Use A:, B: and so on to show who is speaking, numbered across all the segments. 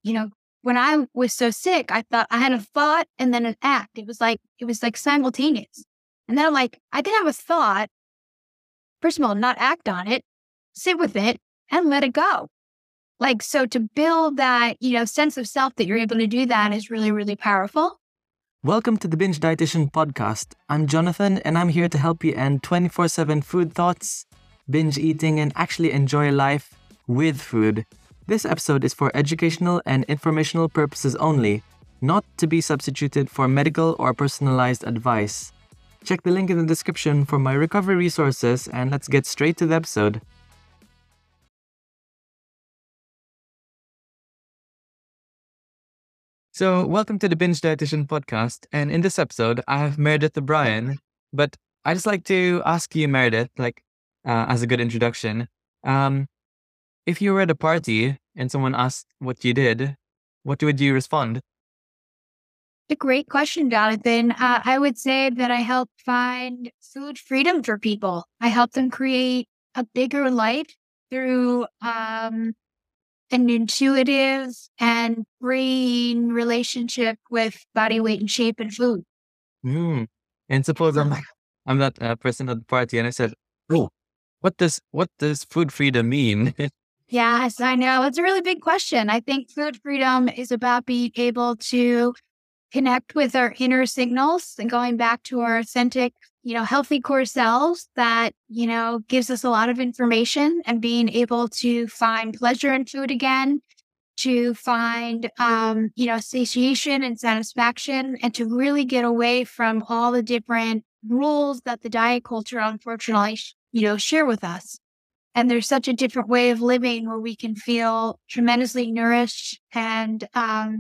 A: when I was so sick, I thought I had a thought and then an act. It was like simultaneous. And then I'm like, I can have a thought, first of all, not act on it, sit with it and let it go. Like, so to build that, sense of self that you're able to do that is really, really powerful.
B: Welcome to the Binge Dietitian Podcast. I'm Jonathan, and I'm here to help you end 24/7 food thoughts, binge eating, and actually enjoy life with food. This episode is for educational and informational purposes only, not to be substituted for medical or personalized advice. Check the link in the description for my recovery resources, and let's get straight to the episode. So, welcome to the Binge Dietitian Podcast, and in this episode, I have Meredith O'Brien. But I just like to ask you, Meredith, as a good introduction, if you were at a party and someone asked what you did, what would you respond?
A: A great question, Jonathan. I would say that I help find food freedom for people. I help them create a bigger life through an intuitive and freeing relationship with body weight and shape and food.
B: And suppose I'm that person at the party, and I said, "Oh, what does food freedom mean?"
A: Yes, I know. It's a really big question. I think food freedom is about being able to connect with our inner signals and going back to our authentic, healthy core selves that, gives us a lot of information, and being able to find pleasure in food again, to find, satiation and satisfaction, and to really get away from all the different rules that the diet culture, unfortunately, share with us. And there's such a different way of living where we can feel tremendously nourished and,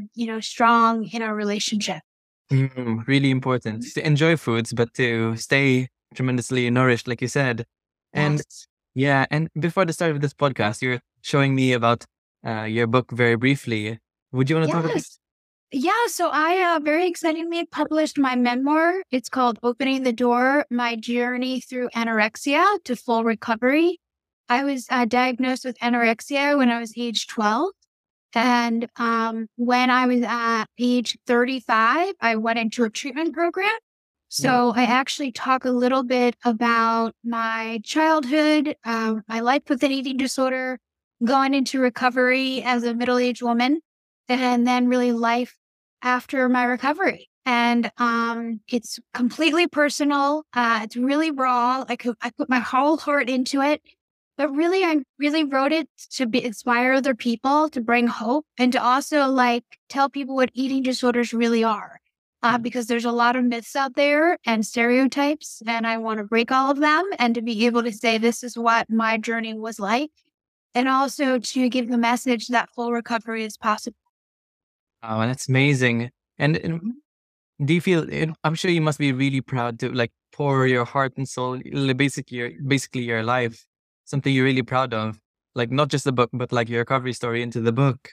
A: strong in our relationship.
B: Really important to enjoy foods, but to stay tremendously nourished, like you said. And
A: Yes.
B: and before the start of this podcast, you're showing me about your book very briefly. Would you want to talk about?
A: Yes. Yeah, so I very excitingly published my memoir. It's called Opening the Door, My Journey Through Anorexia to Full Recovery. I was diagnosed with anorexia when I was age 12. And when I was at age 35, I went into a treatment program. So I actually talk a little bit about my childhood, my life with an eating disorder, going into recovery as a middle-aged woman, and then really life after my recovery. And it's completely personal. It's really raw. I put my whole heart into it. But really, I really wrote it to inspire other people, to bring hope, and to also tell people what eating disorders really are. Because there's a lot of myths out there and stereotypes, and I want to break all of them and to be able to say this is what my journey was like, and also to give the message that full recovery is possible.
B: Oh, that's amazing. And do you feel? I'm sure you must be really proud to pour your heart and soul, basically your life, something you're really proud of, not just the book, but your recovery story into the book.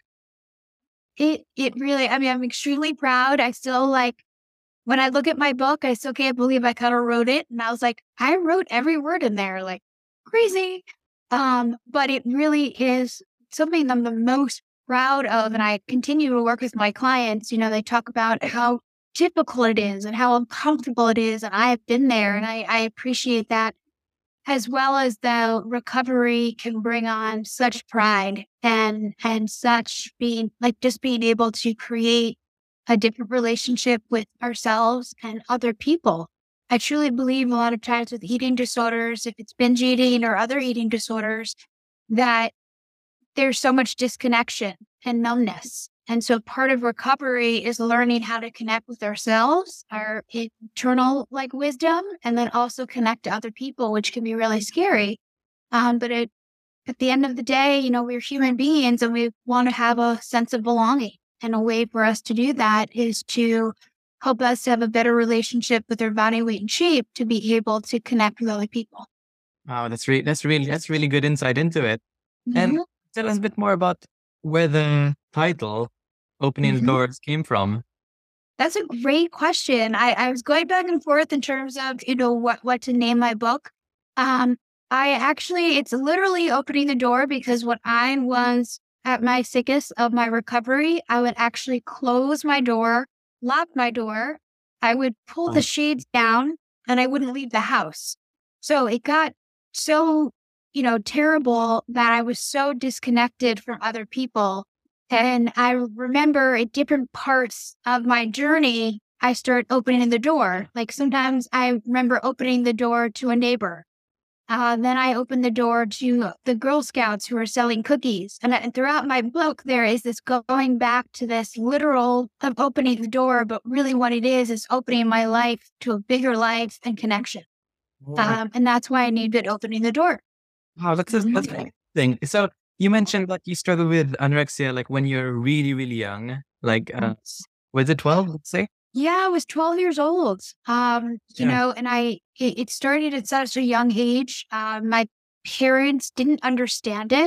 A: It really, I'm extremely proud. I still when I look at my book, I still can't believe I kind of wrote it. And I was like, I wrote every word in there, crazy. But it really is something I'm the most proud of. And I continue to work with my clients. They talk about how difficult it is and how uncomfortable it is. And I have been there, and I appreciate that, as well as the recovery can bring on such pride and such being just being able to create a different relationship with ourselves and other people. I truly believe a lot of times with eating disorders, if it's binge eating or other eating disorders, that there's so much disconnection and numbness. And so part of recovery is learning how to connect with ourselves, our internal wisdom, and then also connect to other people, which can be really scary. But at the end of the day, we're human beings and we want to have a sense of belonging. And a way for us to do that is to help us to have a better relationship with our body weight and shape, to be able to connect with other people.
B: Wow, that's really good insight into it.
A: Mm-hmm.
B: And tell us a bit more about where the title Opening the Doors came from.
A: That's a great question. I was going back and forth in terms of, what to name my book. It's literally opening the door, because what I was at my sickest of my recovery, I would actually close my door, lock my door. I would pull the shades down and I wouldn't leave the house. So it got so, terrible that I was so disconnected from other people. And I remember at different parts of my journey, I started opening the door. Like sometimes I remember opening the door to a neighbor. Then I opened the door to the Girl Scouts who are selling cookies. And throughout my book, there is this going back to this literal of opening the door, but really what it is opening my life to a bigger life and connection. And that's why I named it Opening the Door.
B: Wow, that's a thing. So you mentioned that you struggled with anorexia like when you're really, really young. Like, was it 12, let's say?
A: Yeah, I was 12 years old. And it started at such a young age. My parents didn't understand it.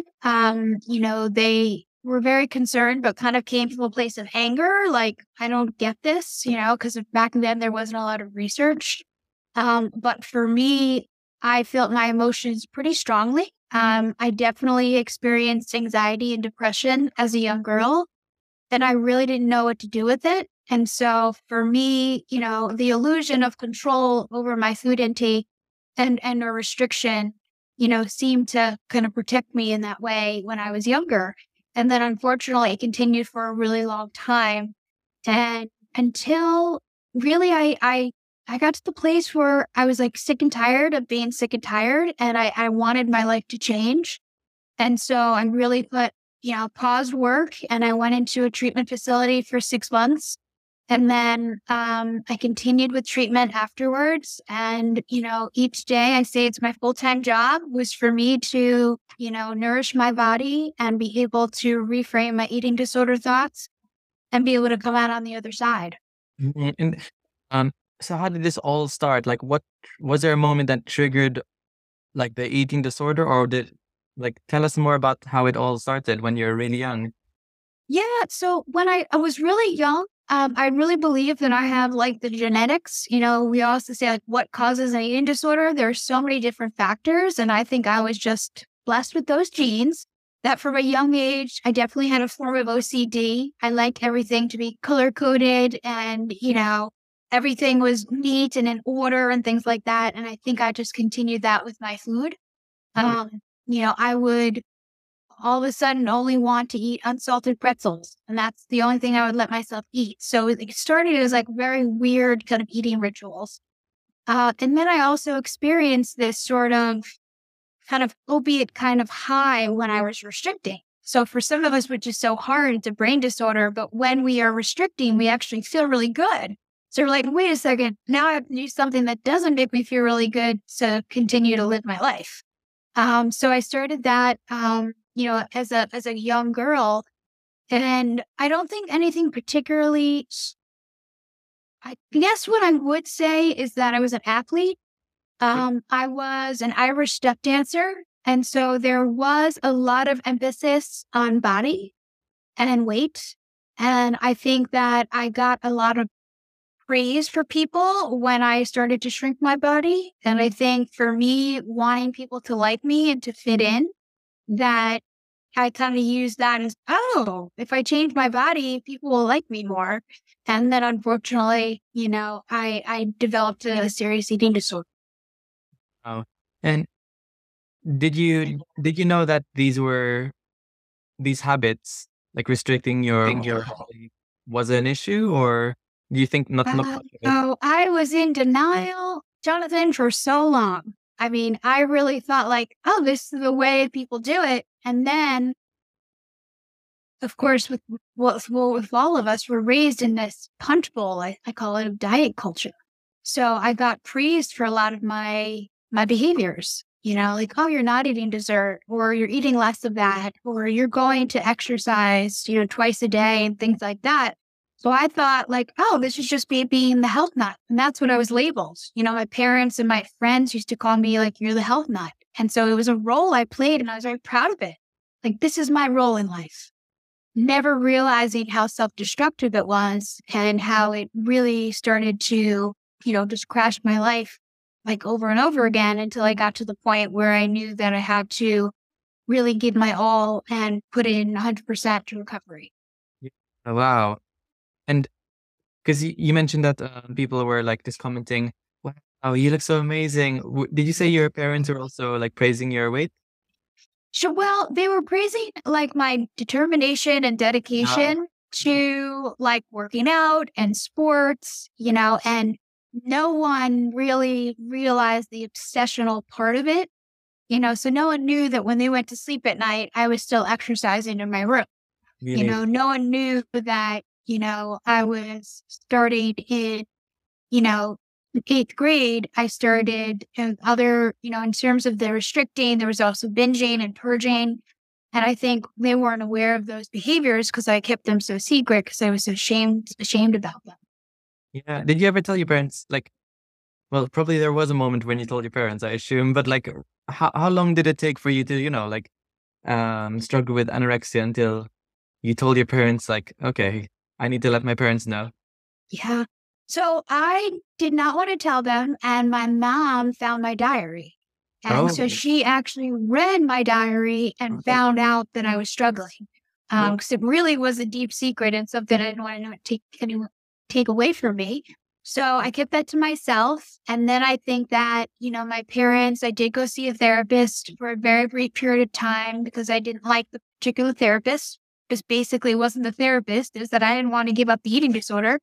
A: They were very concerned, but kind of came from a place of anger. Like, I don't get this, because back then there wasn't a lot of research. But for me, I felt my emotions pretty strongly. I definitely experienced anxiety and depression as a young girl, and I really didn't know what to do with it. And so for me, the illusion of control over my food intake and a restriction, seemed to kind of protect me in that way when I was younger. And then unfortunately, it continued for a really long time. And until really I got to the place where I was like sick and tired of being sick and tired, and I wanted my life to change. And so I really paused work and I went into a treatment facility for 6 months. And then I continued with treatment afterwards. And, each day I say it's my full-time job was for me to, nourish my body and be able to reframe my eating disorder thoughts and be able to come out on the other side.
B: And so how did this all start? Like, what was there a moment that triggered like the eating disorder, or tell us more about how it all started when you're really young?
A: Yeah. So when I was really young, I really believe that I have like the genetics. We also say like what causes an eating disorder. There's so many different factors. And I think I was just blessed with those genes that from a young age, I definitely had a form of OCD. I like everything to be color coded and, everything was neat and in order and things like that. And I think I just continued that with my food. I would all of a sudden only want to eat unsalted pretzels. And that's the only thing I would let myself eat. So it started as like very weird kind of eating rituals. And then I also experienced this sort of kind of opiate kind of high when I was restricting. So for some of us, which is so hard, it's a brain disorder. But when we are restricting, we actually feel really good. So we're like, wait a second, now I have to do something that doesn't make me feel really good to continue to live my life. So I started that, as a young girl, and I don't think anything particularly. I guess what I would say is that I was an athlete. I was an Irish step dancer, and so there was a lot of emphasis on body and weight, and I think that I got a lot of praise for people when I started to shrink my body. And I think for me, wanting people to like me and to fit in, that I kind of used that as, if I change my body, people will like me more. And then unfortunately, I developed a serious eating disorder.
B: Oh, and did you know that these habits, like restricting your body, was an issue, or do you think not much of it?
A: So I was in denial, Jonathan, for so long. I mean, I really thought like, this is the way people do it. And then, of course, with all of us, we're raised in this punch bowl. I call it a diet culture. So I got praised for a lot of my behaviors. Like, you're not eating dessert, or you're eating less of that, or you're going to exercise, twice a day and things like that. So I thought like, this is just me being the health nut. And that's what I was labeled. My parents and my friends used to call me like, you're the health nut. And so it was a role I played and I was very proud of it. Like, this is my role in life. Never realizing how self-destructive it was and how it really started to, just crash my life like over and over again until I got to the point where I knew that I had to really give my all and put in 100% to recovery.
B: Yeah. Oh, wow. And because you mentioned that people were like just commenting, wow, you look so amazing. Did you say your parents were also like praising your weight?
A: So, well, they were praising like my determination and dedication to like working out and sports, and no one really realized the obsessional part of it, so no one knew that when they went to sleep at night, I was still exercising in my room.
B: Really?
A: No one knew that, I was starting in, you know, eighth grade. I started other, in terms of the restricting, there was also binging and purging. And I think they weren't aware of those behaviors because I kept them so secret because I was so ashamed about them.
B: Yeah. Did you ever tell your parents like, well, probably there was a moment when you told your parents, I assume, but like how long did it take for you to, like struggle with anorexia until you told your parents like, okay, I need to let my parents know?
A: Yeah. So I did not want to tell them. And my mom found my diary. And so
B: Oh,
A: she actually read my diary and found out that I was struggling. Because it really was a deep secret and something I didn't want to take away from me. So I kept that to myself. And then I think that, my parents, I did go see a therapist for a very brief period of time because I didn't like the particular therapist. Just basically wasn't the therapist, is that I didn't want to give up the eating disorder.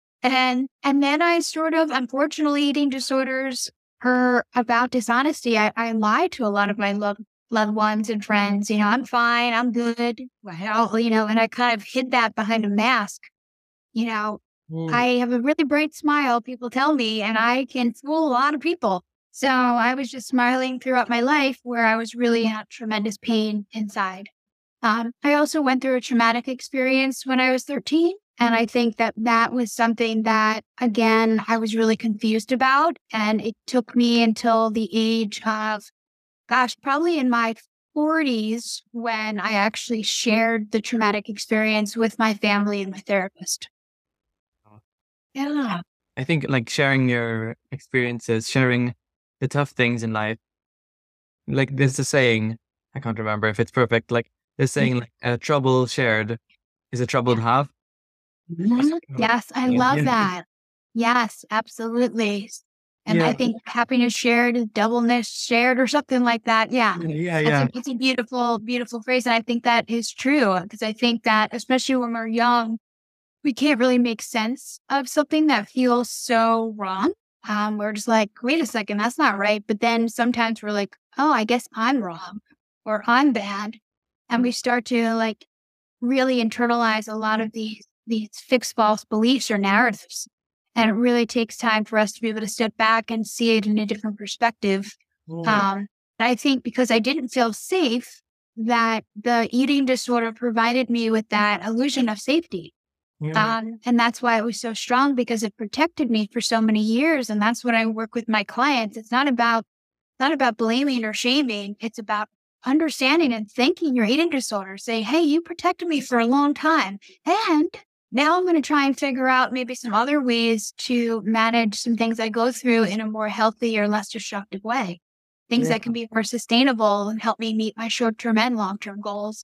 A: And then I sort of, unfortunately, eating disorders are about dishonesty. I lied to a lot of my loved ones and friends. I'm fine, I'm good. Well, and I kind of hid that behind a mask. You know,
B: mm,
A: I have a really bright smile, people tell me, and I can fool a lot of people. So I was just smiling throughout my life where I was really in tremendous pain inside. I also went through a traumatic experience when I was 13. And I think that that was something that, again, I was really confused about. And it took me until the age of, gosh, probably in my 40s when I actually shared the traumatic experience with my family and my therapist. Yeah.
B: I think like sharing your experiences, sharing the tough things in life, like there's a saying, I can't remember if it's perfect, like there's saying like trouble shared is a trouble to have.
A: Mhm. Yes, I love that. Yes, absolutely. And I
B: Yeah.
A: think happiness shared is doubleness shared or something like that. Yeah.
B: Yeah,
A: That's
B: yeah.
A: it's a beautiful, beautiful phrase. And I think that is true because I think that especially when we're young, we can't really make sense of something that feels so wrong. We're just like, wait a second, that's not right. But then sometimes we're like, oh, I guess I'm wrong or I'm bad. And we start to like really internalize a lot of these fixed false beliefs or narratives. And it really takes time for us to be able to step back and see it in a different perspective.
B: Mm,
A: And I think because I didn't feel safe, that the eating disorder provided me with that illusion of safety.
B: yeah.
A: And that's why it was so strong because it protected me for so many years. And that's what I work with my clients. It's not about blaming or shaming. It's about understanding and thanking your eating disorder. Say, hey, you protected me for a long time. And now I'm going to try and figure out maybe some other ways to manage some things I go through in a more healthy or less destructive way. Things
B: Yeah.
A: that can be more sustainable and help me meet my short-term and long-term goals.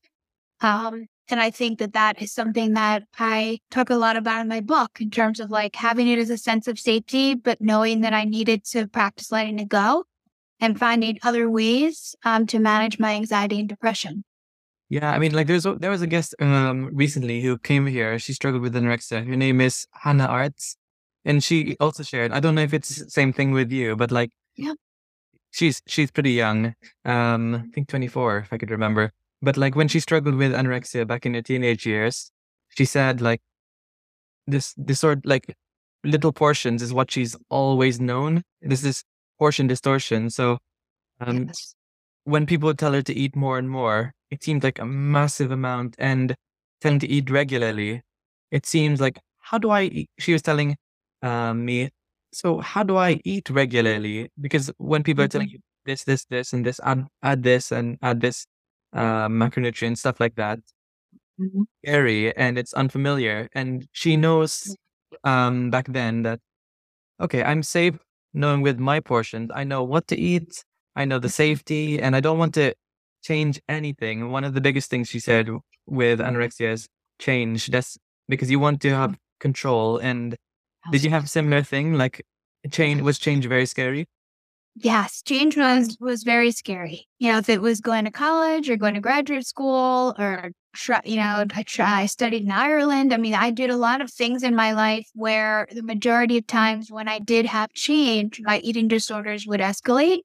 A: And I think that that is something that I talk a lot about in my book in terms of like having it as a sense of safety, but knowing that I needed to practice letting it go and finding other ways to manage my anxiety and depression.
B: Yeah, I mean, like there was a guest recently who came here. She struggled with anorexia. Her name is Hannah Arts, and she also shared. I don't know if it's the same thing with you, but like
A: Yeah.
B: she's pretty young. I think 24, if I could remember. But like when she struggled with anorexia back in her teenage years, she said like this sort like little portions is what she's always known. This is portion distortion. So um
A: Yes.
B: when people tell her to eat more and more, it seems like a massive amount, and telling to eat regularly, it seems like, how do I eat? She was telling me, so how do I eat regularly? Because when people are telling
A: Mhm.
B: you this, and this, add this and add this macronutrient, stuff like that,
A: Mhm.
B: scary and it's unfamiliar. And she knows back then that, okay, I'm safe knowing with my portions. I know what to eat. I know the safety, and I don't want to change anything, one of the biggest things she said with anorexia is change. That's because you want to have control. And did you have a similar thing? Like change very scary?
A: Yes, change was very scary. If it was going to college or going to graduate school or I studied in Ireland. I mean, I did a lot of things in my life where the majority of times when I did have change, my eating disorders would escalate.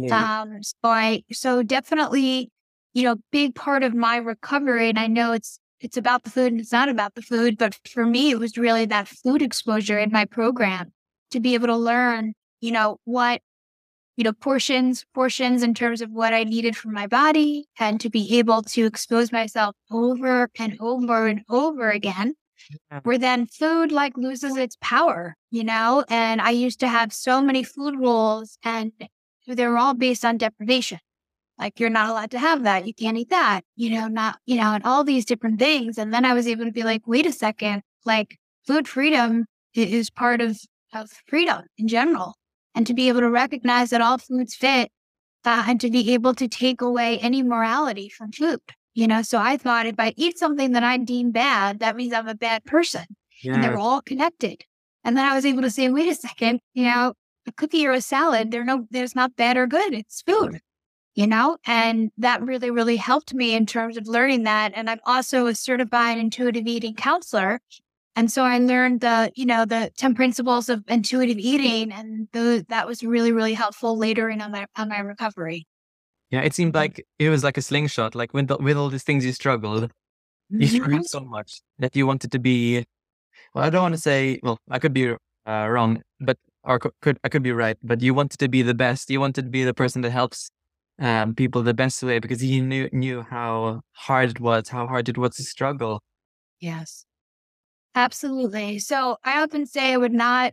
A: So definitely, big part of my recovery, and I know it's about the food and it's not about the food, but for me, it was really that food exposure in my program to be able to learn, what portions in terms of what I needed for my body, and to be able to expose myself over and over and over again, where then food loses its power, and I used to have so many food rules and they were all based on deprivation. Like, you're not allowed to have that. You can't eat that, and all these different things. And then I was able to be like, wait a second, food freedom is part of freedom in general. And to be able to recognize that all foods fit, and to be able to take away any morality from food. So I thought if I eat something that I deem bad, that means I'm a bad person. Yeah. And they're all connected. And then I was able to say, wait a second, a cookie or a salad, there's not bad or good. It's food, and that really, really helped me in terms of learning that. And I'm also a certified intuitive eating counselor. And so I learned the 10 principles of intuitive eating, and that was really, really helpful later on my recovery.
B: Yeah, it seemed like it was like a slingshot. Like with all these things you struggled so much that you wanted to be. Well, I don't want to say. Well, I could be wrong, but I could be right. But you wanted to be the best. You wanted to be the person that helps people the best way, because you knew how hard it was to struggle.
A: Yes. Absolutely. So I often say I would not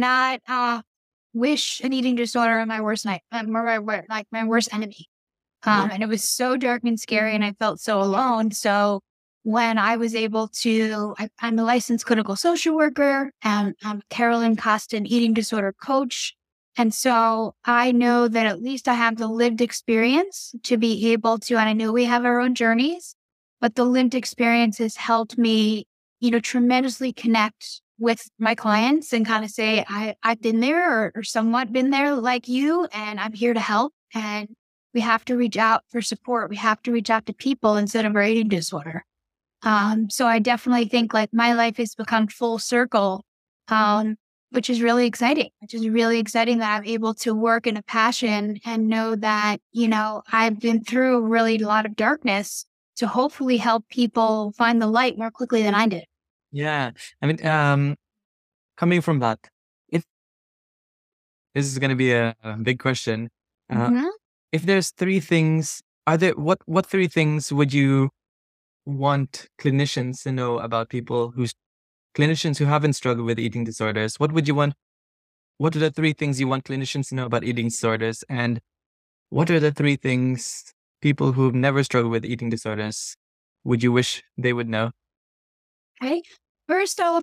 A: wish an eating disorder on my worst night, my worst enemy. And it was so dark and scary, and I felt so alone. So when I was able to, I'm a licensed clinical social worker, and I'm Carolyn Costin eating disorder coach. And so I know that at least I have the lived experience to be able to, and I know we have our own journeys, but the lived experience has helped me tremendously connect with my clients and kind of say, I've been there or somewhat been there like you, and I'm here to help. And we have to reach out for support. We have to reach out to people instead of our eating disorder. So I definitely think my life has become full circle, which is really exciting, that I'm able to work in a passion and know that, I've been through really a lot of darkness to hopefully help people find the light more quickly than I did.
B: Yeah. I mean, coming from that, if this is going to be a big question, if there's three things, what three things would you want clinicians to know about clinicians who haven't struggled with eating disorders? What are the three things you want clinicians to know about eating disorders? And what are the three things people who've never struggled with eating disorders would you wish they would know?
A: Okay. First off,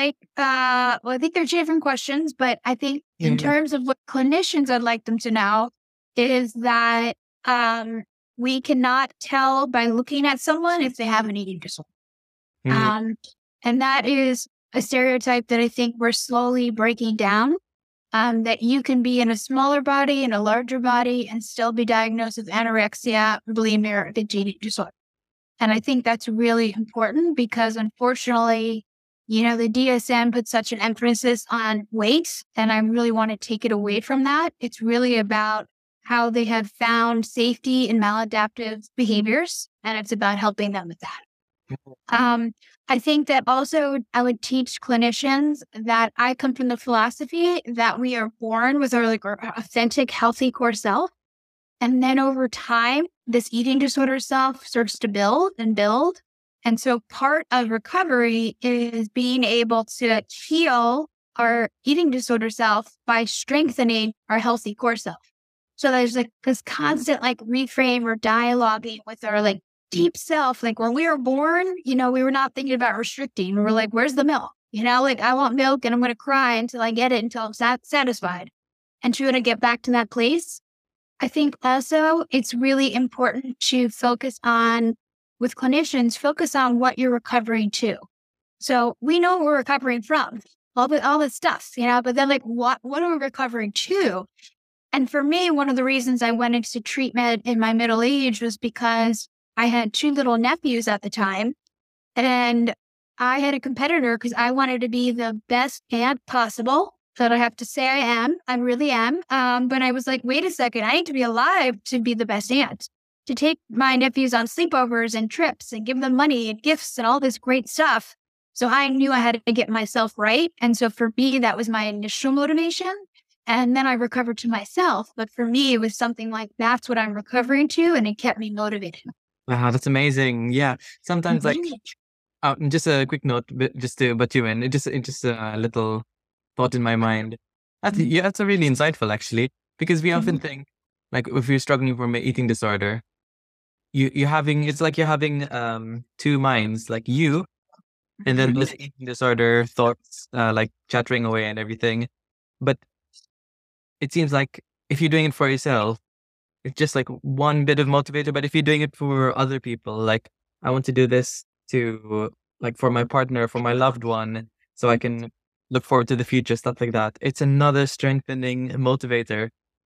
A: I think they're two different questions, but I think in terms of what clinicians I'd like them to know is that we cannot tell by looking at someone if they have an eating disorder. And that is a stereotype that I think we're slowly breaking down, that you can be in a smaller body, in a larger body, and still be diagnosed with anorexia, bulimia, or binge eating disorder. And I think that's really important because, unfortunately, the DSM puts such an emphasis on weight, and I really want to take it away from that. It's really about how they have found safety in maladaptive behaviors, and it's about helping them with that. I think that also I would teach clinicians that I come from the philosophy that we are born with our authentic, healthy core self. And then over time, this eating disorder self starts to build and build. And so part of recovery is being able to heal our eating disorder self by strengthening our healthy core self. So there's this constant reframe or dialoguing with our deep self. When we were born, we were not thinking about restricting. We were where's the milk? I want milk and I'm going to cry until I get it, until I'm satisfied. And to get back to that place, I think also it's really important to focus on, with clinicians, focus on what you're recovering to. So we know what we're recovering from, all the stuff, but then like what are we recovering to? And for me, one of the reasons I went into treatment in my middle age was because I had 2 little nephews at the time. And I had a competitor because I wanted to be the best aunt possible. So I have to say I am. I really am. But I was like, wait a second, I need to be alive to be the best aunt, to take my nephews on sleepovers and trips and give them money and gifts and all this great stuff. So I knew I had to get myself right. And so for me, that was my initial motivation. And then I recovered to myself. But for me, it was something like, that's what I'm recovering to. And it kept me motivated.
B: Wow, that's amazing. Yeah. Sometimes like, just a quick note, just to butt you in, just a little thought in my mind. That's a really insightful actually, because we often think like if you're struggling from an eating disorder, it's like you're having 2 minds, like you, and then this eating disorder thoughts like chattering away and everything. But it seems like if you're doing it for yourself, it's just like one bit of motivator. But if you're doing it for other people, like I want to do this to like for my partner, for my loved one, so I can look forward to the future, stuff like that. It's another strengthening motivator,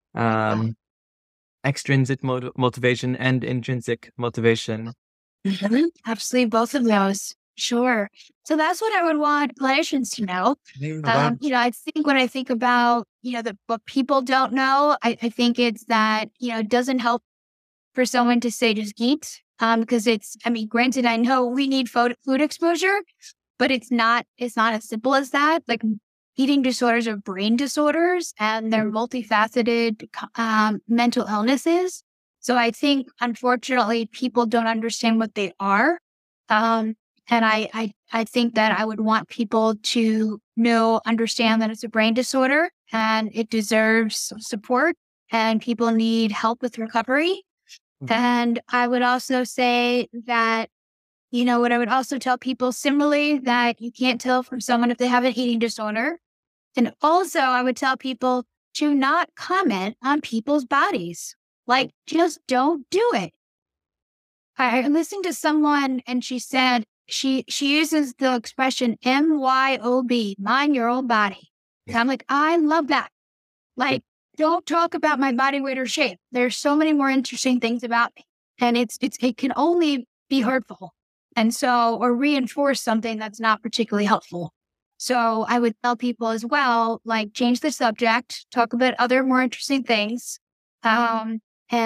B: extrinsic motivation and intrinsic motivation.
A: Absolutely, both of those. Sure. So that's what I would want clinicians to know. I think when I think about, what people don't know, I think it's that, it doesn't help for someone to say just eat. Because granted, I know we need food exposure, but it's not as simple as that. Like eating disorders are brain disorders and they're multifaceted mental illnesses. So I think, unfortunately, people don't understand what they are. And I think that I would want people to understand that it's a brain disorder and it deserves support and people need help with recovery. And I would also say that, what I would also tell people similarly, that you can't tell from someone if they have an eating disorder. And also I would tell people to not comment on people's bodies. Like, just don't do it. I listened to someone and she said, she uses the expression MYOB, mind your own body. And I'm like, I love that. Like, don't talk about my body weight or shape. There's so many more interesting things about me. And it can only be hurtful. And so, or reinforce something that's not particularly helpful. So I would tell people as well, like, change the subject, talk about other more interesting things. And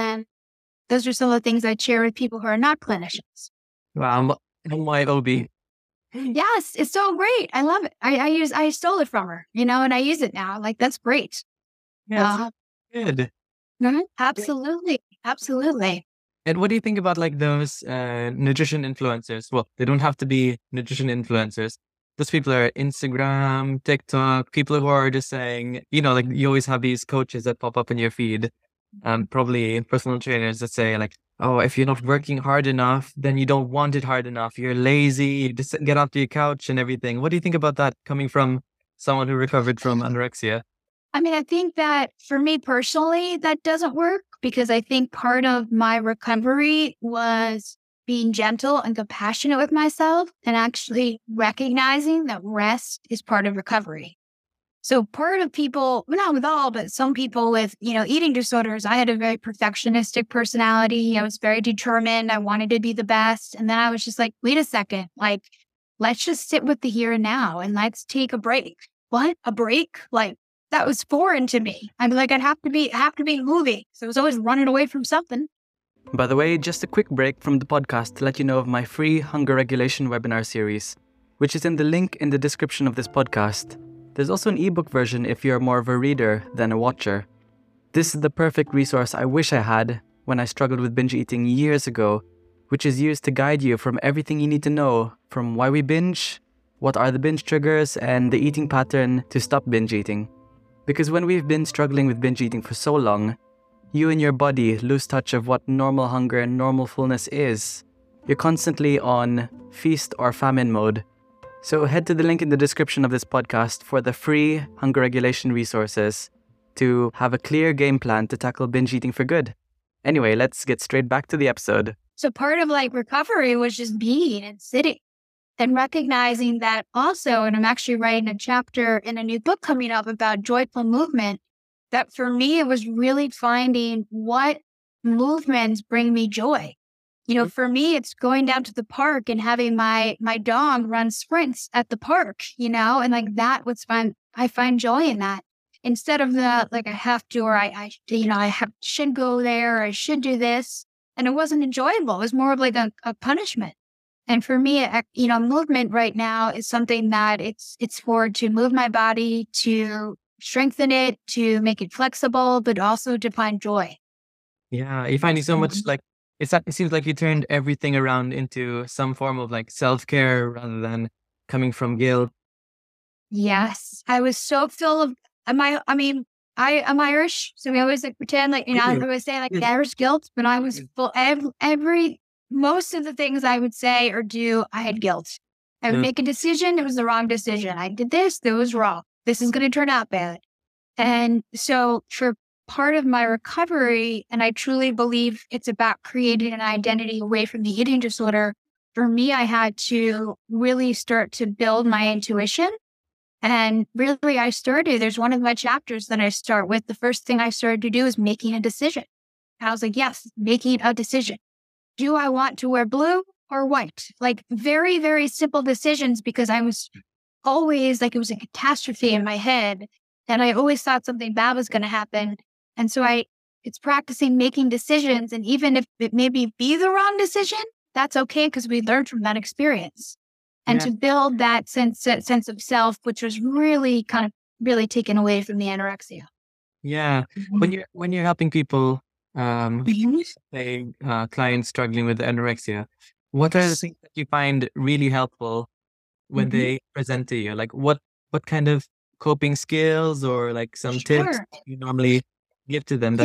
A: those are some of the things I share with people who are not clinicians.
B: Wow, MYOB.
A: Yes, it's so great. I love it. I stole it from her, and I use it now. Like, that's great.
B: Yeah, good.
A: Absolutely. Absolutely.
B: And what do you think about like those nutrition influencers? Well, they don't have to be nutrition influencers. Those people are Instagram, TikTok, people who are just saying, like you always have these coaches that pop up in your feed, probably personal trainers that say like, oh, if you're not working hard enough, then you don't want it hard enough. You're lazy, you just get off your couch and everything. What do you think about that coming from someone who recovered from anorexia?
A: I think that for me personally, that doesn't work because I think part of my recovery was being gentle and compassionate with myself and actually recognizing that rest is part of recovery. So part of people, not with all, but some people with, eating disorders, I had a very perfectionistic personality. I was very determined. I wanted to be the best. And then I was just like, wait a second, like, let's just sit with the here and now and let's take a break. What? A break? Like, that was foreign to me. I'm like, I'd have to be moving. So I was always running away from something.
B: By the way, just a quick break from the podcast to let you know of my free hunger regulation webinar series, which is in the link in the description of this podcast. There's also an ebook version if you're more of a reader than a watcher. This is the perfect resource I wish I had when I struggled with binge eating years ago, which is used to guide you from everything you need to know, from why we binge, what are the binge triggers, and the eating pattern to stop binge eating. Because when we've been struggling with binge eating for so long, you and your body lose touch of what normal hunger and normal fullness is. You're constantly on feast or famine mode. So head to the link in the description of this podcast for the free hunger regulation resources to have a clear game plan to tackle binge eating for good. Anyway, let's get straight back to the episode.
A: So part of like recovery was just being and sitting and recognizing that also, and I'm actually writing a chapter in a new book coming up about joyful movement, that for me, it was really finding what movements bring me joy. For me, it's going down to the park and having my dog run sprints at the park, and like that was fun. I find joy in that instead of the, like I have to, or should go there, or I should do this. And it wasn't enjoyable. It was more of like a punishment. And for me, movement right now is something that it's to move my body, to strengthen it, to make it flexible, but also to find joy.
B: Yeah, you're finding so much like it seems like you turned everything around into some form of like self-care rather than coming from guilt.
A: Yes. I was so full of I'm Irish, so we always like pretend like, I always say like Irish guilt, but I was full most of the things I would say or do, I had guilt. I would make a decision, it was the wrong decision. I did this, that was wrong. This is going to turn out bad. And so for part of my recovery, and I truly believe it's about creating an identity away from the eating disorder, for me, I had to really start to build my intuition. And really, there's one of my chapters that I start with. The first thing I started to do is making a decision. And I was like, yes, making a decision. Do I want to wear blue or white? Like very, very simple decisions, because I was always like, it was a catastrophe in my head. And I always thought something bad was going to happen. And so it's practicing making decisions. And even if it maybe be the wrong decision, that's okay, because we learned from that experience. And to build that sense of self, which was really taken away from the anorexia.
B: Yeah. When you're helping people, say clients struggling with anorexia, what are the things that you find really helpful when they present to you? Like what kind of coping skills or like some tips you normally give to them?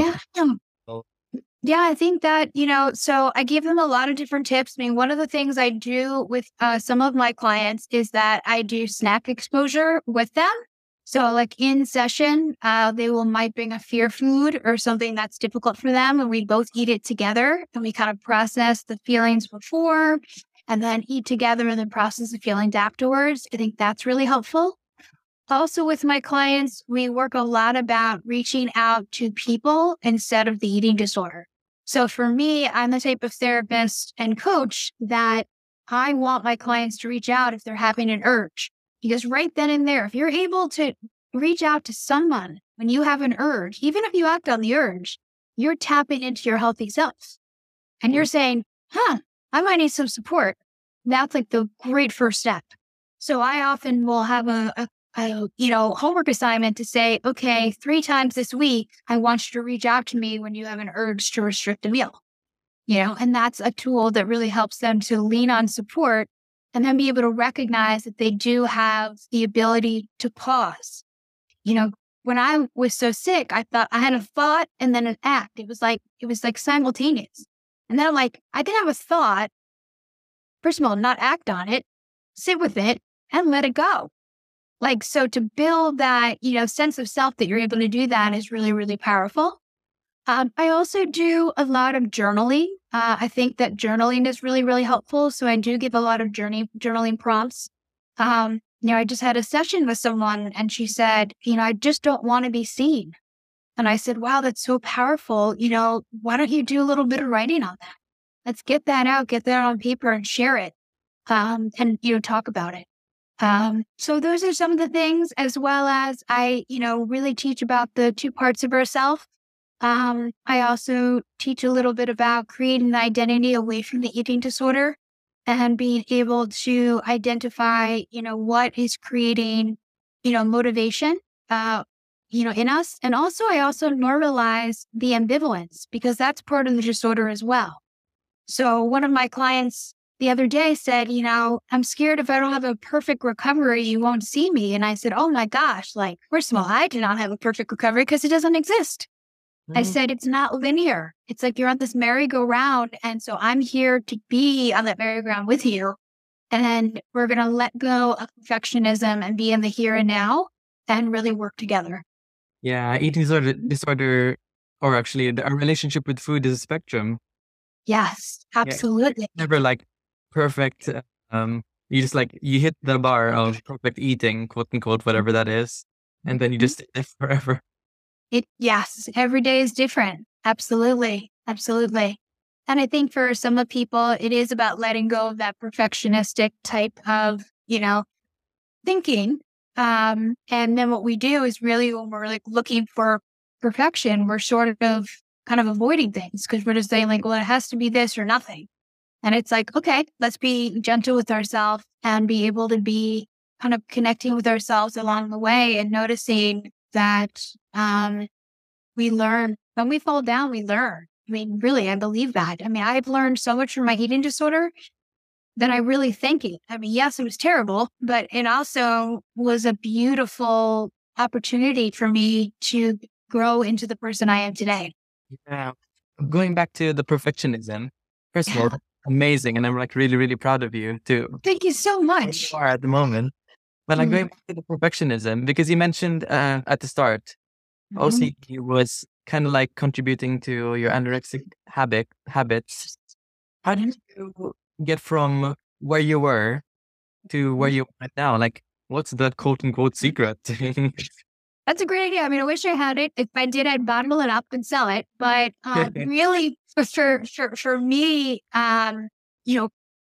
A: Yeah, I think that, so I give them a lot of different tips. I mean, one of the things I do with some of my clients is that I do snack exposure with them. So like in session, they might bring a fear food or something that's difficult for them, and we both eat it together, and we kind of process the feelings before and then eat together and then process the feelings afterwards. I think that's really helpful. Also with my clients, we work a lot about reaching out to people instead of the eating disorder. So for me, I'm the type of therapist and coach that I want my clients to reach out if they're having an urge. Because right then and there, if you're able to reach out to someone when you have an urge, even if you act on the urge, you're tapping into your healthy self. And you're saying, I might need some support. That's like the great first step. So I often will have a homework assignment to say, okay, 3 times this week, I want you to reach out to me when you have an urge to restrict a meal, and that's a tool that really helps them to lean on support and then be able to recognize that they do have the ability to pause. When I was so sick, I thought I had a thought and then an act. It was like simultaneous. And then I'm like, I can have a thought. First of all, not act on it, sit with it and let it go. Like, so to build that, sense of self that you're able to do that is really, really powerful. I also do a lot of journaling. I think that journaling is really, really helpful. So I do give a lot of journaling prompts. I just had a session with someone and she said, I just don't want to be seen. And I said, wow, that's so powerful. Why don't you do a little bit of writing on that? Let's get that out, get that on paper and share it. And talk about it. So those are some of the things, as well as I, really teach about the 2 parts of ourself. I also teach a little bit about creating an identity away from the eating disorder and being able to identify, what is creating, motivation, in us. And also, I also normalize the ambivalence, because that's part of the disorder as well. So one of my clients the other day said, I'm scared if I don't have a perfect recovery, you won't see me. And I said, oh my gosh, like, first of all, I do not have a perfect recovery because it doesn't exist. I said, it's not linear. It's like you're on this merry-go-round. And so I'm here to be on that merry-go-round with you. And we're going to let go of perfectionism and be in the here and now and really work together.
B: Yeah, eating disorder, or actually our relationship with food is a spectrum.
A: Yes,
B: Yeah,
A: absolutely.
B: never like perfect. You just like you hit the bar of perfect eating, quote unquote, whatever that is, and then you
A: Mhm.
B: just stay there forever.
A: Yes, every day is different. Absolutely. Absolutely. And I think for some of people, it is about letting go of that perfectionistic type of, thinking. And then what we do is really when we're like looking for perfection, we're sort of kind of avoiding things because we're just saying like, well, it has to be this or nothing. And it's like, okay, let's be gentle with ourselves and be able to be kind of connecting with ourselves along the way and noticing that we learn. When we fall down, we learn. I mean, really, I believe that. I mean, I've learned so much from my eating disorder that I really thank it. I mean, yes, it was terrible, but it also was a beautiful opportunity for me to grow into the person I am today.
B: Yeah. Going back to the perfectionism, first of all,
A: Yeah.
B: that's amazing, and I'm like really, really proud of you to
A: Thank you so
B: where you
A: much.
B: are at the moment. But like
A: Mm-hmm.
B: going back to the perfectionism, because you mentioned at the start, OCD was kind of like contributing to your anorexic habits. How did you get from where you were to where you are right now? Like, what's that quote unquote secret?
A: That's a great idea. I mean, I wish I had it. If I did, I'd bottle it up and sell it. But really, for me, you know,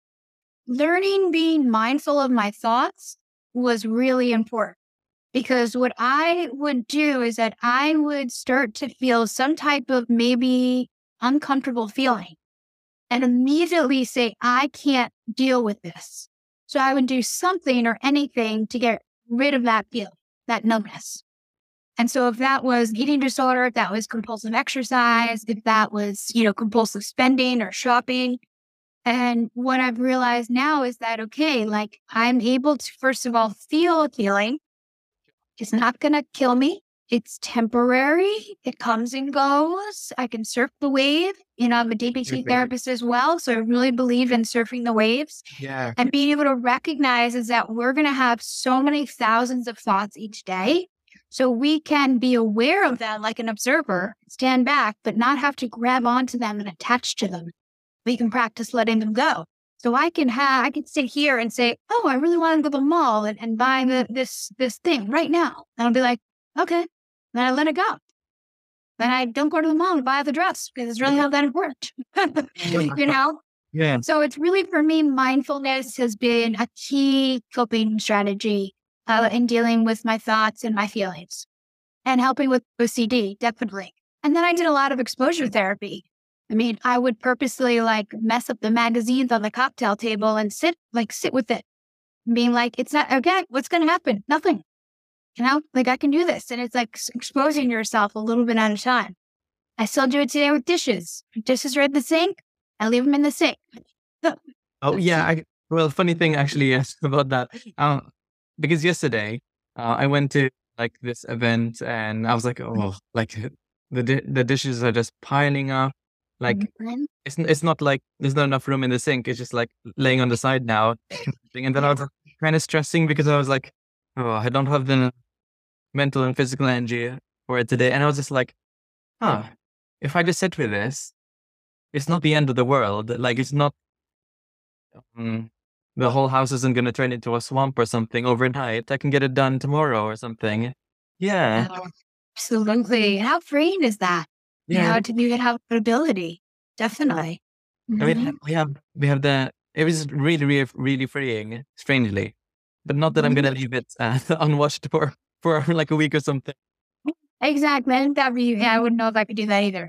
A: learning being mindful of my thoughts was really important because what I would do is that I would start to feel some type of maybe uncomfortable feeling and immediately say, I can't deal with this. So I would do something or anything to get rid of that feeling, that numbness. And so if that was eating disorder, if that was compulsive exercise, if that was, compulsive spending or shopping. And what I've realized now is that, okay, like I'm able to, first of all, feel a feeling. It's not going to kill me. It's temporary. It comes and goes. I can surf the wave. I'm a DBT therapist as well. So I really believe in surfing the waves
B: Yeah.
A: and being able to recognize is that we're going to have so many thousands of thoughts each day. So we can be aware of them like an observer, stand back, but not have to grab onto them and attach to them. We can practice letting them go. So I can sit here and say, oh, I really want to go to the mall and buy this thing right now. And I'll be like, okay. Then I let it go. Then I don't go to the mall and buy the dress because it's really not that important. you know?
B: Yeah.
A: So it's really, for me, mindfulness has been a key coping strategy in dealing with my thoughts and my feelings and helping with OCD, definitely. And then I did a lot of exposure therapy. I mean, I would purposely like mess up the magazines on the cocktail table and sit with it, being like, it's not, okay, what's going to happen? Nothing. Like I can do this. And it's like exposing yourself a little bit at a time. I still do it today with dishes. Dishes are in the sink. I leave them in the sink.
B: Oh yeah. Well, funny thing actually yes about that. Because yesterday, I went to like this event and I was like, oh, like the dishes are just piling up. Like it's not like there's not enough room in the sink. It's just like laying on the side now. And then I was kind of stressing because I was like, oh, I don't have the mental and physical energy for it today. And I was just like, huh, if I just sit with this, it's not the end of the world. Like it's not Mm, the whole house isn't going to turn into a swamp or something overnight. I can get it done tomorrow or something. Yeah.
A: Oh, absolutely. How freeing is that?
B: Yeah.
A: To even have that ability. Definitely.
B: I
A: Mhm.
B: mean, we have it was really, really, really freeing, strangely. But not that I'm going to leave it unwashed for like a week or something.
A: Exactly. I wouldn't know if I could do that either.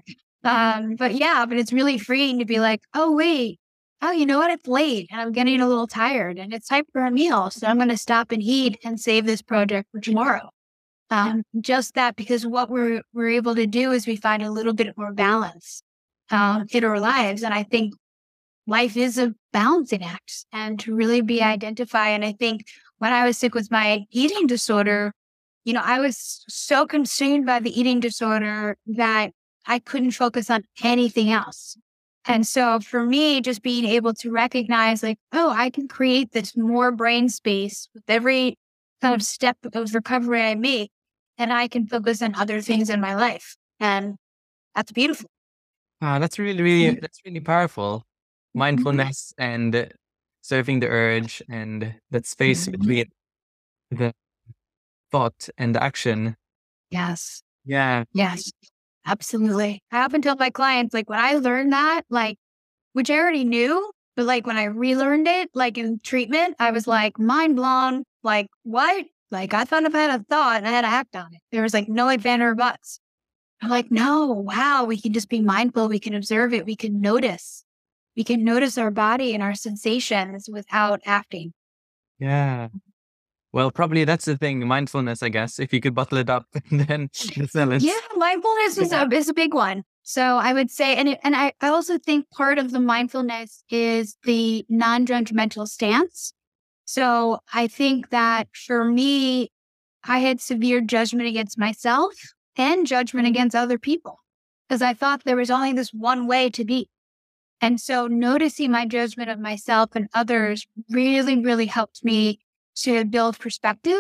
A: But it's really freeing to be like, oh, wait. Oh, you know what? It's late and I'm getting a little tired and it's time for a meal. So I'm going to stop and eat and save this project for tomorrow. Just that because what we're able to do is we find a little bit more balance in our lives. And I think life is a balancing act and to really be identified. And I think when I was sick with my eating disorder, I was so consumed by the eating disorder that I couldn't focus on anything else. And so for me, just being able to recognize like, oh, I can create this more brain space with every kind of step of recovery I make. and I can focus on other things in my life. And that's beautiful.
B: That's that's really powerful. Mindfulness and serving the urge and that space between the thought and the action.
A: Yes.
B: Yeah.
A: Yes. Absolutely. I often tell my clients, like, when I learned that, like, which I already knew, but like when I relearned it, like in treatment, I was like mind blown. Like, what? Like, I thought if I had a thought and I had to act on it. There was like no ifs, ands, or buts. I'm like, no, wow, we can just be mindful. We can observe it. We can notice. We can notice our body and our sensations without acting.
B: Yeah. Well, probably that's the thing, mindfulness, I guess. If you could bottle it up, then the silence.
A: Yeah, mindfulness is a big one. So I would say, and I also think part of the mindfulness is the non-judgmental stance. So I think that for me, I had severe judgment against myself and judgment against other people because I thought there was only this one way to be. And so noticing my judgment of myself and others really, really helped me to build perspective,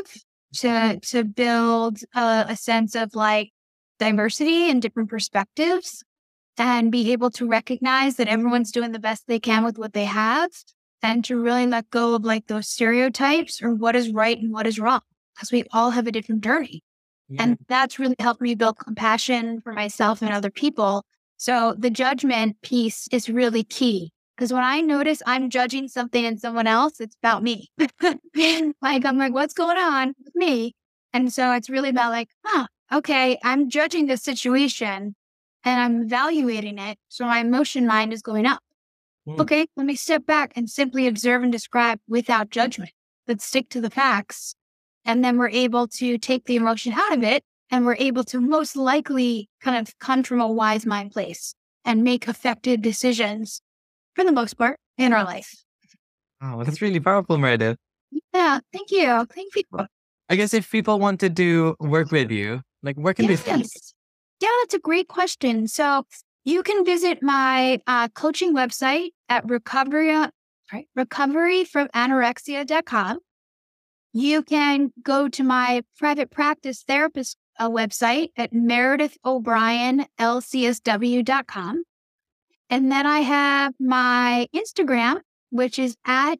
A: to build a sense of like diversity and different perspectives, and be able to recognize that everyone's doing the best they can with what they have, and to really let go of like those stereotypes or what is right and what is wrong, because we all have a different journey.
B: Yeah.
A: And that's really helped me build compassion for myself and other people. So the judgment piece is really key. Because when I notice I'm judging something in someone else, it's about me. Like, I'm like, what's going on with me? And so it's really about like, okay, I'm judging this situation and I'm evaluating it. So my emotion mind is going up. Okay, let me step back and simply observe and describe without judgment. Let's stick to the facts. And then we're able to take the emotion out of it. And we're able to most likely kind of come from a wise mind place and make effective decisions for the most part in our life.
B: Oh, that's really powerful, Meredith.
A: Yeah, thank you. Thank you.
B: I guess if people wanted to work with you, like where can they find you?
A: Yeah, that's a great question. So you can visit my coaching website at recoveryfromanorexia.com. You can go to my private practice therapist website at meredithobrienlcsw.com. And then I have my Instagram, which is at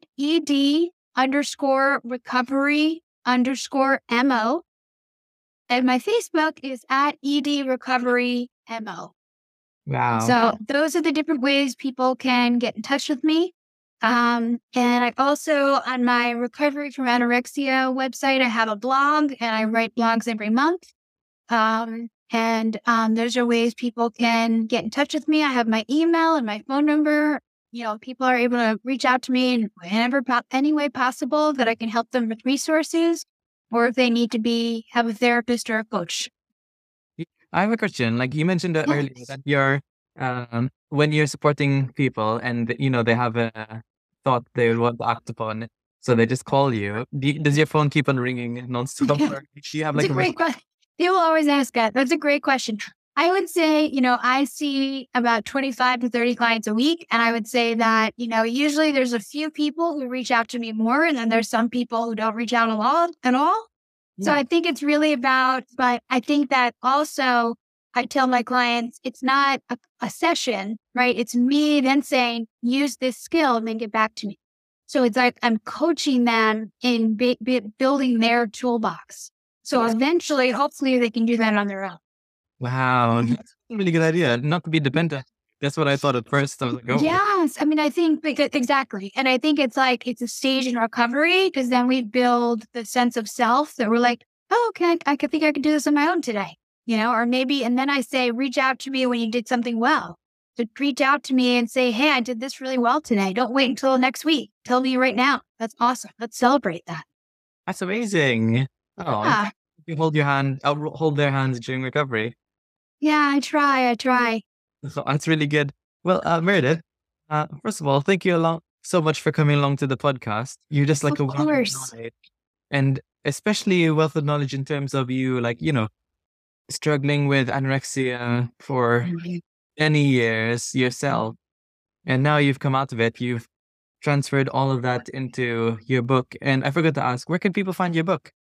A: ed_recovery_mo. And my Facebook is at edrecoverymo.
B: Wow.
A: So those are the different ways people can get in touch with me. And I also, on my Recovery from Anorexia website, I have a blog and I write blogs every month. Those are ways people can get in touch with me. I have my email and my phone number. You know, people are able to reach out to me in any way possible that I can help them with resources, or if they need to have a therapist or a coach.
B: I have a question. Like you mentioned earlier that you're when you're supporting people and you know they have a thought they would want to act upon, so they just call you. Does your phone keep on ringing nonstop? Or do you have like
A: a great question? People always ask that. That's a great question. I would say, I see about 25 to 30 clients a week. And I would say that, usually there's a few people who reach out to me more. And then there's some people who don't reach out at all. Yeah. So I think it's really but I think that also I tell my clients, it's not a session, right? It's me then saying, use this skill and then get back to me. So it's like I'm coaching them in building their toolbox. So eventually, hopefully they can do that on their own.
B: Wow. That's a really good idea. Not to be dependent. That's what I thought at first. I was like, oh.
A: Yes. I mean, I think exactly. And I think it's a stage in recovery because then we build the sense of self that we're like, oh, okay, I think I could do this on my own today, or maybe, and then I say, reach out to me when you did something well. So reach out to me and say, hey, I did this really well today. Don't wait until next week. Tell me right now. That's awesome. Let's celebrate that.
B: That's amazing. Oh,
A: yeah.
B: You hold your hand, I'll hold their hands during recovery.
A: Yeah, I try.
B: So that's really good. Well, Meredith, first of all, thank you so much for coming along to the podcast. You're just like
A: of course.
B: Knowledge, and especially a wealth of knowledge in terms of you, struggling with anorexia for many years yourself. And now you've come out of it. You've transferred all of that into your book. And I forgot to ask, where can people find your book?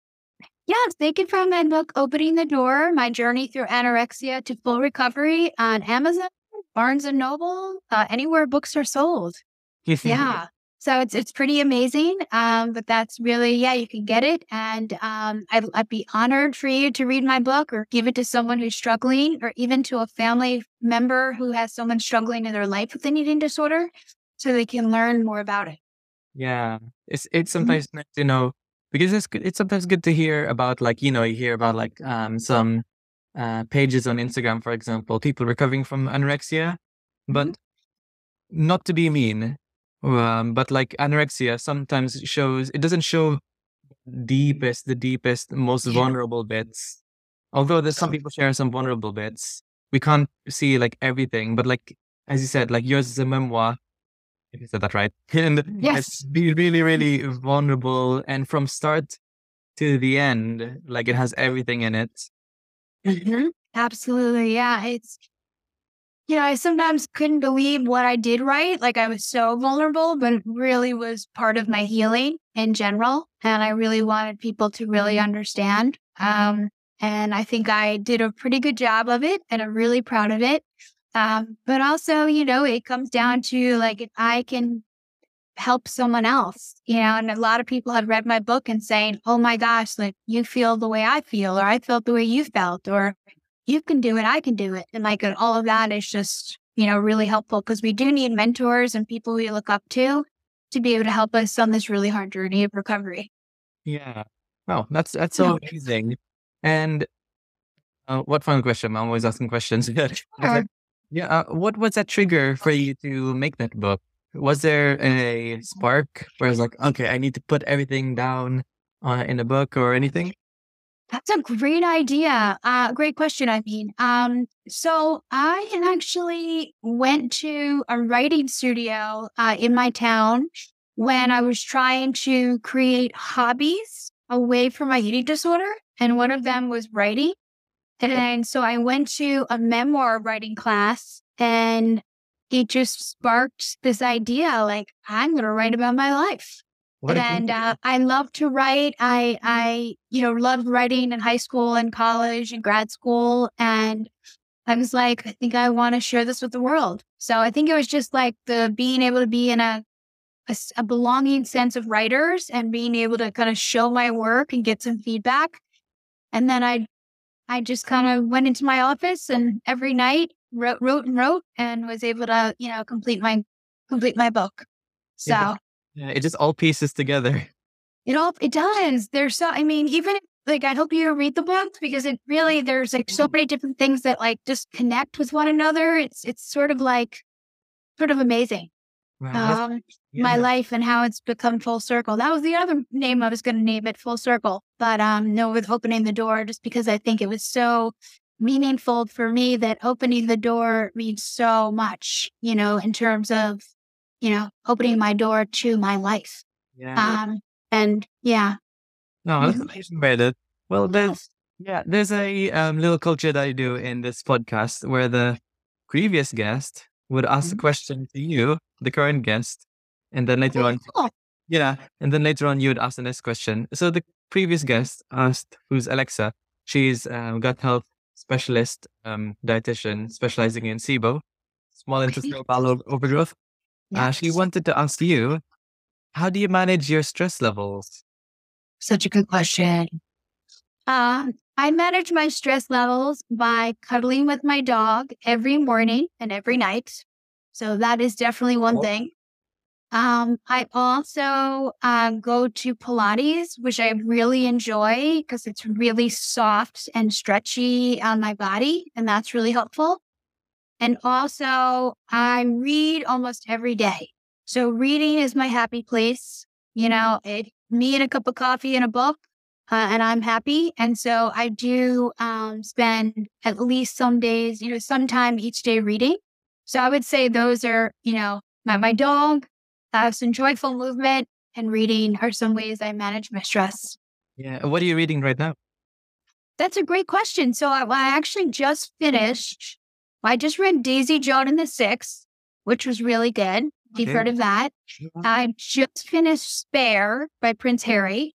A: Yes, they can find my book, Opening the Door, My Journey Through Anorexia to Full Recovery on Amazon, Barnes& and Noble, anywhere books are sold. Yeah. So it's pretty amazing. But that's really, yeah, you can get it. And I'd be honored for you to read my book or give it to someone who's struggling, or even to a family member who has someone struggling in their life with an eating disorder, so they can learn more about it.
B: Yeah, it's
A: Mhm.
B: sometimes nice to know, because it's sometimes good to hear about, like, you hear about like some pages on Instagram, for example, people recovering from anorexia,
A: Mhm.
B: but not to be mean, but like anorexia sometimes shows, it doesn't show the deepest, most
A: Yeah.
B: vulnerable bits. Although there's some people share some vulnerable bits, we can't see like everything. But like, as you said, like yours is a memoir, if you said that right, and it's
A: Yes.
B: really, really vulnerable, and from start to the end, like it has everything in it.
A: Mhm. Absolutely. Yeah. I sometimes couldn't believe what I did right. Like, I was so vulnerable, but it really was part of my healing in general. And I really wanted people to really understand. And I think I did a pretty good job of it, and I'm really proud of it. But also, it comes down to, like, if I can help someone else, and a lot of people have read my book and saying, oh my gosh, like, you feel the way I feel, or I felt the way you felt, or you can do it, I can do it. And like, all of that is just, really helpful, because we do need mentors and people we look up to be able to help us on this really hard journey of recovery.
B: Yeah. Wow, that's
A: Yeah.
B: so amazing. And what final question? I'm always asking questions. But
A: Sure.
B: like, yeah, what was that trigger for you to make that book? Was there a spark where it's like, okay, I need to put everything down in a book or anything?
A: That's a great idea. Great question. I mean, so I actually went to a writing studio in my town when I was trying to create hobbies away from my eating disorder, and one of them was writing. And so I went to a memoir writing class, and it just sparked this idea, like, I'm going to write about my life.
B: What a great
A: And I love to write. I loved writing in high school and college and grad school. And I was like, I think I want to share this with the world. So I think it was just like the being able to be in a belonging sense of writers, and being able to kind of show my work and get some feedback. And then I just kind of went into my office, and every night wrote and wrote, and was able to, complete my book.
B: it,
A: So
B: yeah, it just all pieces together.
A: it does. There's so, I mean, even like, I hope you read the book, because there's like so many different things that like just connect with one another. It's sort of amazing.
B: Wow, that's
A: Um, my
B: yeah.
A: life and how it's become full circle. That was the other name I was going to name it, Full Circle. But no, with Opening the Door, just because I think it was so meaningful for me, that opening the door means so much, in terms of, opening my door to my life.
B: Yeah.
A: Um, and yeah.
B: No, that's
A: Mhm.
B: amazing, Meredith. Well,
A: Yes.
B: there's a little culture that I do in this podcast where the previous guest would ask a
A: Mhm.
B: question to you, the current guest, and then later
A: Oh,
B: on,
A: cool.
B: yeah, and then later on you would ask the next question. So the previous guest asked, who's Alexa? She's gut health specialist, dietitian specializing in SIBO, small
A: Okay.
B: intestinal bowel overgrowth. She
A: Yes.
B: wanted to ask you, how do you manage your stress levels?
A: Such a good question. I manage my stress levels by cuddling with my dog every morning and every night. So that is definitely one thing. I also go to Pilates, which I really enjoy because it's really soft and stretchy on my body, and that's really helpful. And also, I read almost every day. So reading is my happy place. Me and a cup of coffee and a book, and I'm happy. And so I do spend at least some days, sometime each day reading. So I would say those are, my dog, some joyful movement, and reading are some ways I manage my stress.
B: Yeah. What are you reading right now?
A: That's a great question. So I actually just finished. I just read Daisy Joan and the Six, which was really good. If you've
B: Okay.
A: heard of that. I just finished Spare by Prince Harry.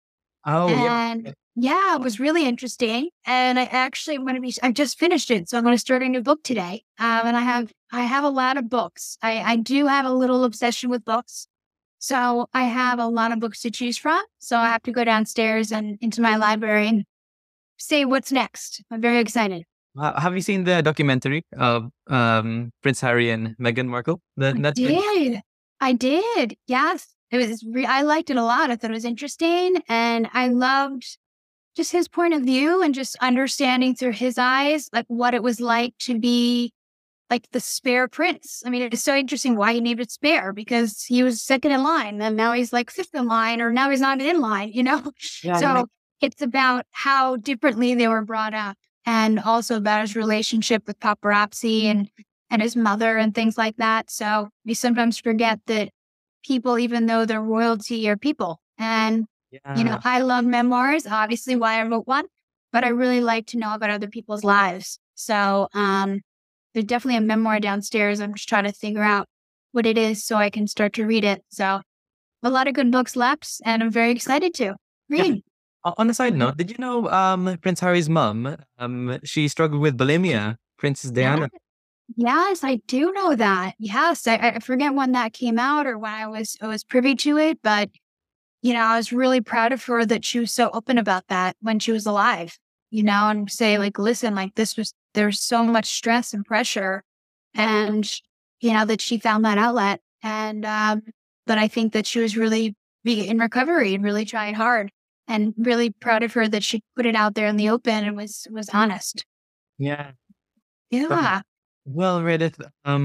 B: Oh, yeah.
A: And yeah, it was really interesting. And I actually am going to I just finished it. So I'm going to start a new book today. And I have a lot of books. I do have a little obsession with books. So I have a lot of books to choose from. So I have to go downstairs and into my library and say what's next. I'm very excited.
B: Have you seen the documentary of Prince Harry and Meghan Markle? The Netflix?
A: I did. Yes. It was, I liked it a lot. I thought it was interesting. And I loved just his point of view and just understanding through his eyes, like what it was like to be like the spare prince. I mean, it's so interesting why he named it spare, because he was second in line and now he's like fifth in line, or now he's not in line, you know?
B: Yeah,
A: So it's about how differently they were brought up, and also about his relationship with paparazzi and his mother and things like that. So we sometimes forget that people, even though they're royalty, are people. And,
B: yeah.
A: I love memoirs, obviously why I wrote one, but I really like to know about other people's lives. So there's definitely a memoir downstairs. I'm just trying to figure out what it is so I can start to read it. So a lot of good books left, and I'm very excited to read.
B: On a side note, did you know Prince Harry's mum? She struggled with bulimia. Princess Diana.
A: Yes, I do know that. Yes, I forget when that came out or when I was privy to it, but I was really proud of her that she was so open about that when she was alive. And say like, listen, like there's so much stress and pressure, and that she found that outlet, and but I think that she was really in recovery and really trying hard, and really proud of her that she put it out there in the open and was honest.
B: Yeah.
A: Yeah.
B: Well, Reddit.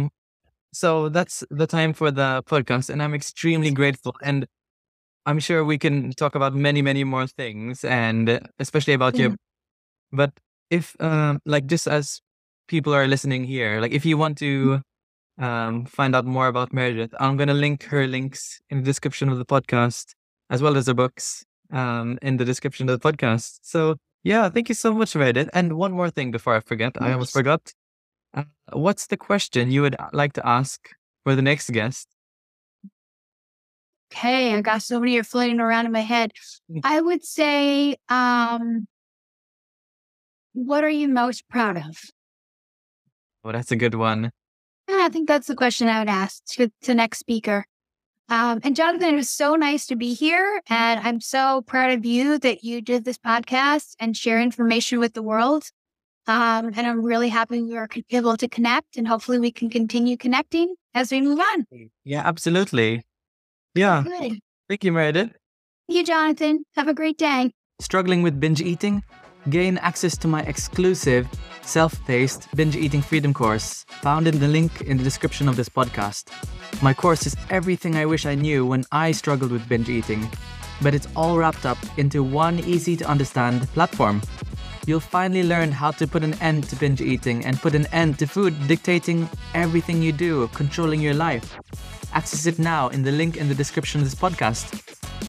B: So that's the time for the podcast, and I'm extremely grateful. And I'm sure we can talk about many, many more things, and especially about
A: Yeah.
B: your. But if like just as people are listening here, like if you want to find out more about Meredith, I'm gonna link her links in the description of the podcast, as well as her books in the description of the podcast. So yeah, thank you so much, Meredith. And one more thing before I forget, I almost forgot. What's the question you would like to ask for the next guest?
A: Okay, I got so many are floating around in my head. I would say, what are you most proud of?
B: Oh, that's a good one.
A: I think that's the question I would ask to the next speaker. And Jonathan, it was so nice to be here. And I'm so proud of you that you did this podcast and share information with the world. And I'm really happy we were able to connect, and hopefully we can continue connecting as we move on.
B: Yeah, absolutely. Yeah.
A: Good.
B: Thank you, Meredith.
A: Thank you, Jonathan. Have a great day.
B: Struggling with binge eating? Gain access to my exclusive self-paced binge eating freedom course found in the link in the description of this podcast. My course is everything I wish I knew when I struggled with binge eating, but it's all wrapped up into one easy to understand platform. You'll finally learn how to put an end to binge eating and put an end to food dictating everything you do, controlling your life. Access it now in the link in the description of this podcast.